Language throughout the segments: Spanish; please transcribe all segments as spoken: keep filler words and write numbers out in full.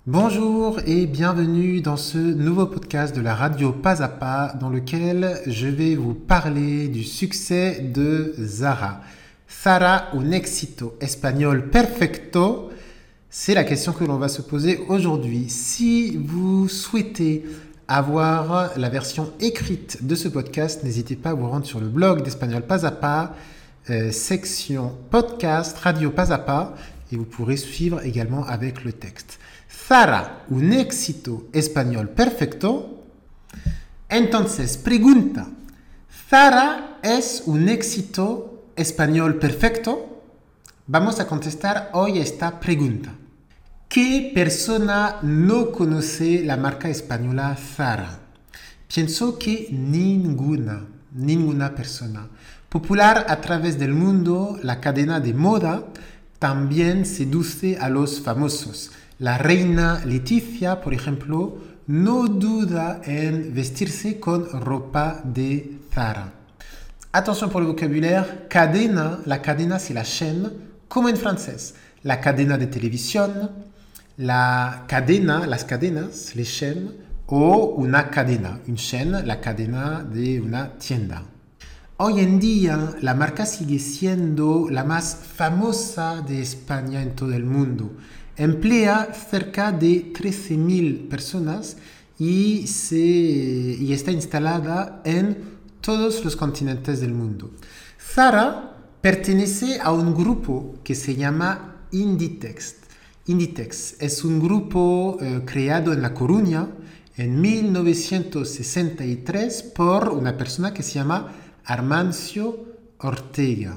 Bonjour et bienvenue dans ce nouveau podcast de la radio Pas à Pas dans lequel je vais vous parler du succès de Zara. Zara, un éxito espagnol perfecto? C'est la question que l'on va se poser aujourd'hui. Si vous souhaitez avoir la version écrite de ce podcast, n'hésitez pas à vous rendre sur le blog d'Espagnol Pas à Pas, euh, section podcast Radio Pas à Pas, et vous pourrez suivre également avec le texte. Zara, un éxito español perfecto? Entonces, pregunta, ¿Zara es un éxito español perfecto? Vamos a contestar hoy esta pregunta. ¿Qué persona no conoce la marca española Zara? Pienso que ninguna, ninguna persona. Popular a través del mundo, la cadena de moda también seduce a los famosos. La reina Leticia, por ejemplo, no duda en vestirse con ropa de Zara. Attention pour le vocabulaire, cadena, la cadena c'est la chaîne, como en francés. La cadena de televisión, la cadena, las cadenas, les chaînes, o una cadena, une chaîne, la cadena de una tienda. Hoy en día, la marca sigue siendo la más famosa de España en todo el mundo. Emplea cerca de trece mil personas y, se, y está instalada en todos los continentes del mundo. Zara pertenece a un grupo que se llama Inditex. Inditex es un grupo eh, creado en La Coruña en mil novecientos sesenta y tres por una persona que se llama Armancio Ortega.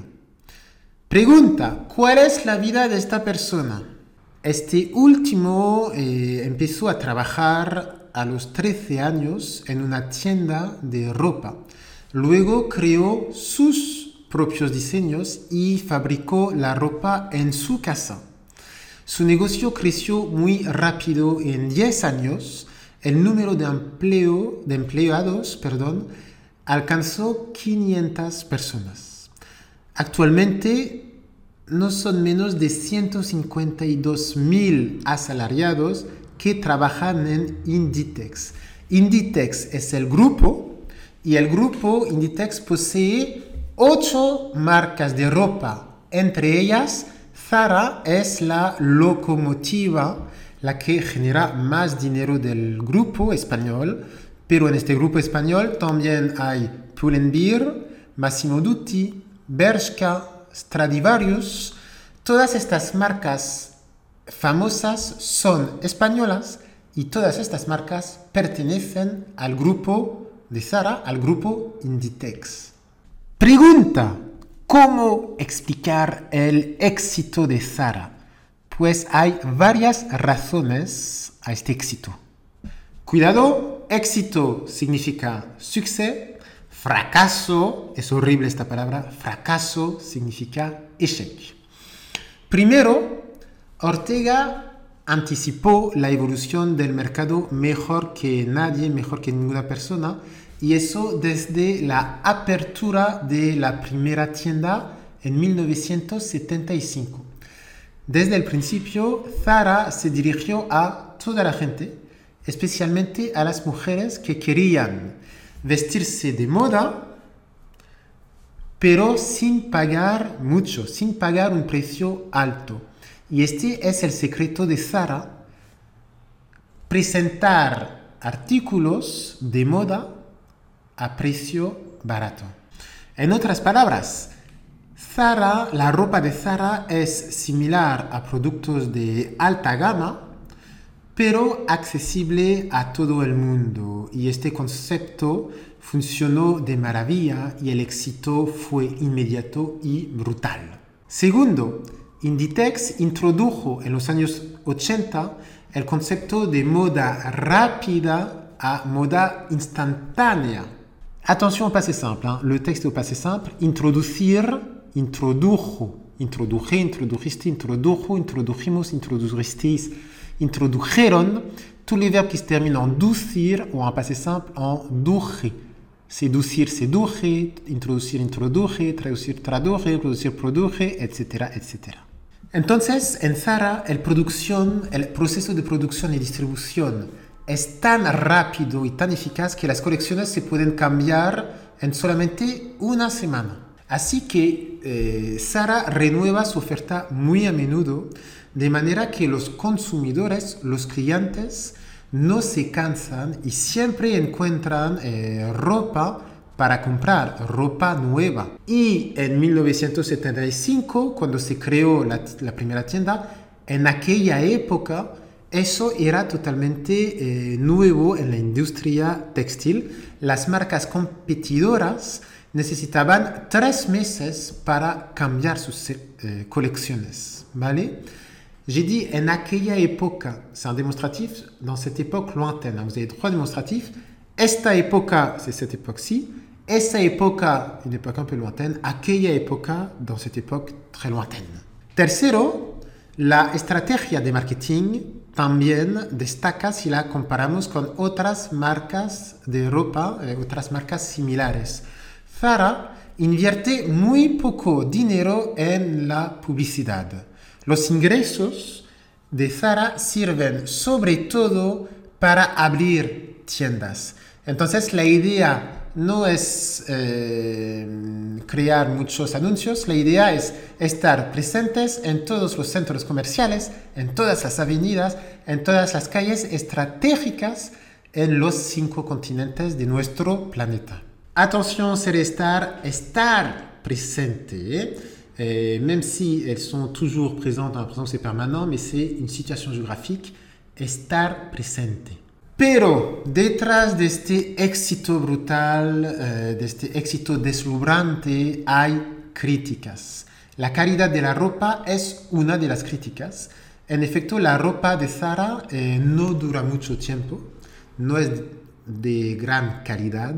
Pregunta, ¿cuál es la vida de esta persona? Este último eh, empezó a trabajar a los trece años en una tienda de ropa. Luego creó sus propios diseños y fabricó la ropa en su casa. Su negocio creció muy rápido. En diez años, el número de, empleo, de empleados perdón, alcanzó quinientas personas. Actualmente, no son menos de ciento cincuenta y dos mil asalariados que trabajan en Inditex. Inditex es el grupo y el grupo Inditex posee ocho marcas de ropa. Entre ellas, Zara es la locomotiva, la que genera más dinero del grupo español, pero en este grupo español también hay Pull&Bear, Massimo Dutti, Bershka, Stradivarius. Todas estas marcas famosas son españolas y todas estas marcas pertenecen al grupo de Zara, al grupo Inditex. Pregunta, ¿cómo explicar el éxito de Zara? Pues hay varias razones a este éxito. Cuidado, éxito significa succès. Fracaso, es horrible esta palabra, fracaso significa échec. Primero, Ortega anticipó la evolución del mercado mejor que nadie, mejor que ninguna persona, y eso desde la apertura de la primera tienda en mil novecientos setenta y cinco. Desde el principio, Zara se dirigió a toda la gente, especialmente a las mujeres que querían vestirse de moda, pero sin pagar mucho, sin pagar un precio alto. Y este es el secreto de Zara: presentar artículos de moda a precio barato. En otras palabras, Zara, la ropa de Zara es similar a productos de alta gama, pero accesible a todo el mundo. Y este concepto funcionó de maravilla y el éxito fue inmediato y brutal. Segundo, Inditex introdujo en los años ochenta el concepto de moda rápida a moda instantánea. Attention au passé simple, hein? Le texte au passé simple, introducir, introdujo, introduje, introdujiste, introdujo, introdujimos, introdujisteis, introdujeron, tous les verbes qui se terminent en ducir ou en passé simple en duje. Seducir, seduje, introducir, introduje, traducir, traduje, producir, produje, etcétera, etcétera. Entonces, en Zara, el, producción, el proceso de producción y distribución es tan rápido y tan eficaz que las colecciones se pueden cambiar en solamente una semana. Así que eh, Zara renueva su oferta muy a menudo, de manera que los consumidores, los clientes, no se cansan y siempre encuentran eh, ropa para comprar, ropa nueva. Y en mil novecientos setenta y cinco, cuando se creó la, la primera tienda, en aquella época eso era totalmente eh, nuevo en la industria textil. Las marcas competidoras necesitaban tres meses para cambiar sus eh, colecciones, ¿vale? J'ai dit en aquella época, c'est un démonstratif dans cette époque lointaine. Vous avez trois démonstratifs. Esta época, c'est cette époque-ci. Esa época, une époque un peu lointaine. Aquella época, dans cette époque très lointaine. Tercero, la estrategia de marketing también destaca si la comparamos con otras marcas de ropa, eh, otras marcas similares. Zara invierte muy poco dinero en la publicidad. Los ingresos de Zara sirven sobre todo para abrir tiendas. Entonces la idea no es eh, crear muchos anuncios, la idea es estar presentes en todos los centros comerciales, en todas las avenidas, en todas las calles estratégicas en los cinco continentes de nuestro planeta. Attention, c'est estar, estar presente, ¿eh? Euh, même si elles sont toujours présentes dans la présence c'est permanent, mais c'est une situation géographique, estar presente. Pero detrás de este éxito brutal, uh, de este éxito deslumbrante, hay críticas. La calidad de la ropa es una de las críticas. En efecto, la ropa de Zara eh, no dura mucho tiempo, no es de gran calidad.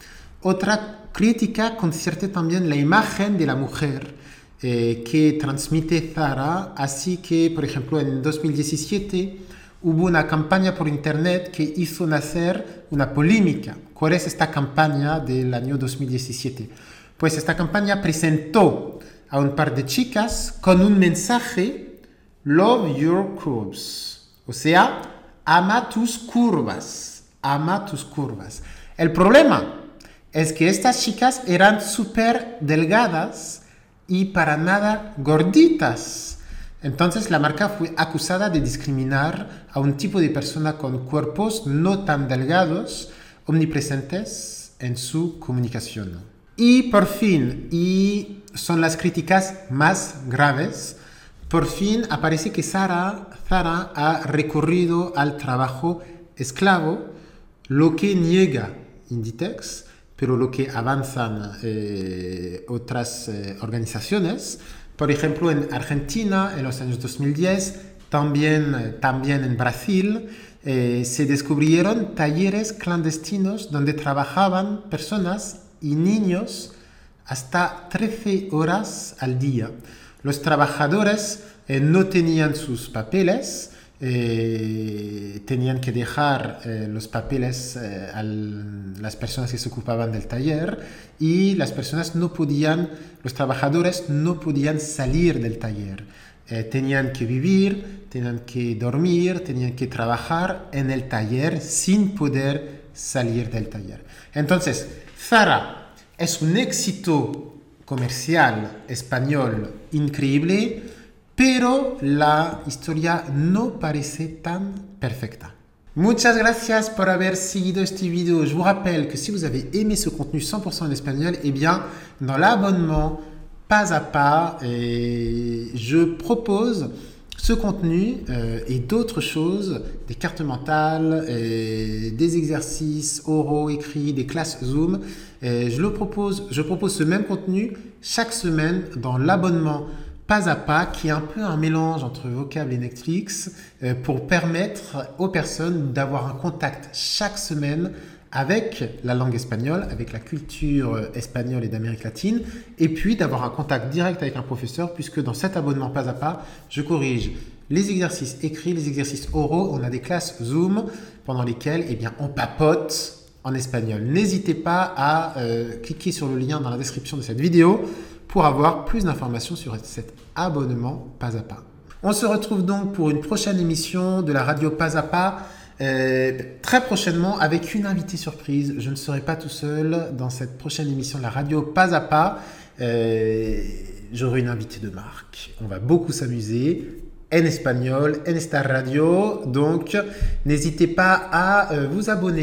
Otra crítica concierne también la imagen de la mujer Eh, que transmite Zara, así que, por ejemplo, en dos mil diecisiete hubo una campaña por internet que hizo nacer una polémica. ¿Cuál es esta campaña del año dos mil diecisiete? Pues esta campaña presentó a un par de chicas con un mensaje: Love your curves, o sea, ama tus curvas, ama tus curvas. El problema es que estas chicas eran súper delgadas y para nada gorditas. Entonces la marca fue acusada de discriminar a un tipo de persona con cuerpos no tan delgados, omnipresentes en su comunicación. Y por fin, y son las críticas más graves, por fin aparece que Zara, Zara ha recurrido al trabajo esclavo, lo que niega Inditex, pero lo que avanzan eh, otras eh, organizaciones. Por ejemplo, en Argentina, en los años dos mil diez, también, también en Brasil, eh, se descubrieron talleres clandestinos donde trabajaban personas y niños hasta trece horas al día. Los trabajadores eh, no tenían sus papeles, Eh, tenían que dejar eh, los papeles eh, a las personas que se ocupaban del taller y las personas no podían, los trabajadores no podían salir del taller. Eh, tenían que vivir, tenían que dormir, tenían que trabajar en el taller sin poder salir del taller. Entonces, Zara es un éxito comercial español increíble, pero la historia no parece tan perfecta. Muchas gracias por haber seguido este video. Je vous rappelle que si vous avez aimé ce contenu cent pour cent en espagnol, eh bien, dans l'abonnement Pas à Pas, eh, je propose ce contenu euh, et d'autres choses, des cartes mentales, eh, des exercices oraux, écrits, des classes Zoom. Eh, je, le propose, je propose ce même contenu chaque semaine dans l'abonnement Pas à Pas, qui est un peu un mélange entre Vocable et Netflix, euh, pour permettre aux personnes d'avoir un contact chaque semaine avec la langue espagnole, avec la culture espagnole et d'Amérique latine, et puis d'avoir un contact direct avec un professeur, puisque dans cet abonnement Pas à Pas, je corrige les exercices écrits, les exercices oraux. On a des classes Zoom pendant lesquelles eh bien, on papote en espagnol. N'hésitez pas à euh, cliquer sur le lien dans la description de cette vidéo pour avoir plus d'informations sur cet abonnement Pas à Pas. On se retrouve donc pour une prochaine émission de la radio Pas à Pas, euh, très prochainement avec une invitée surprise. Je ne serai pas tout seul dans cette prochaine émission de la radio Pas à Pas. Euh, j'aurai une invitée de marque. On va beaucoup s'amuser en espagnol, en esta radio. Donc, n'hésitez pas à euh, vous abonner.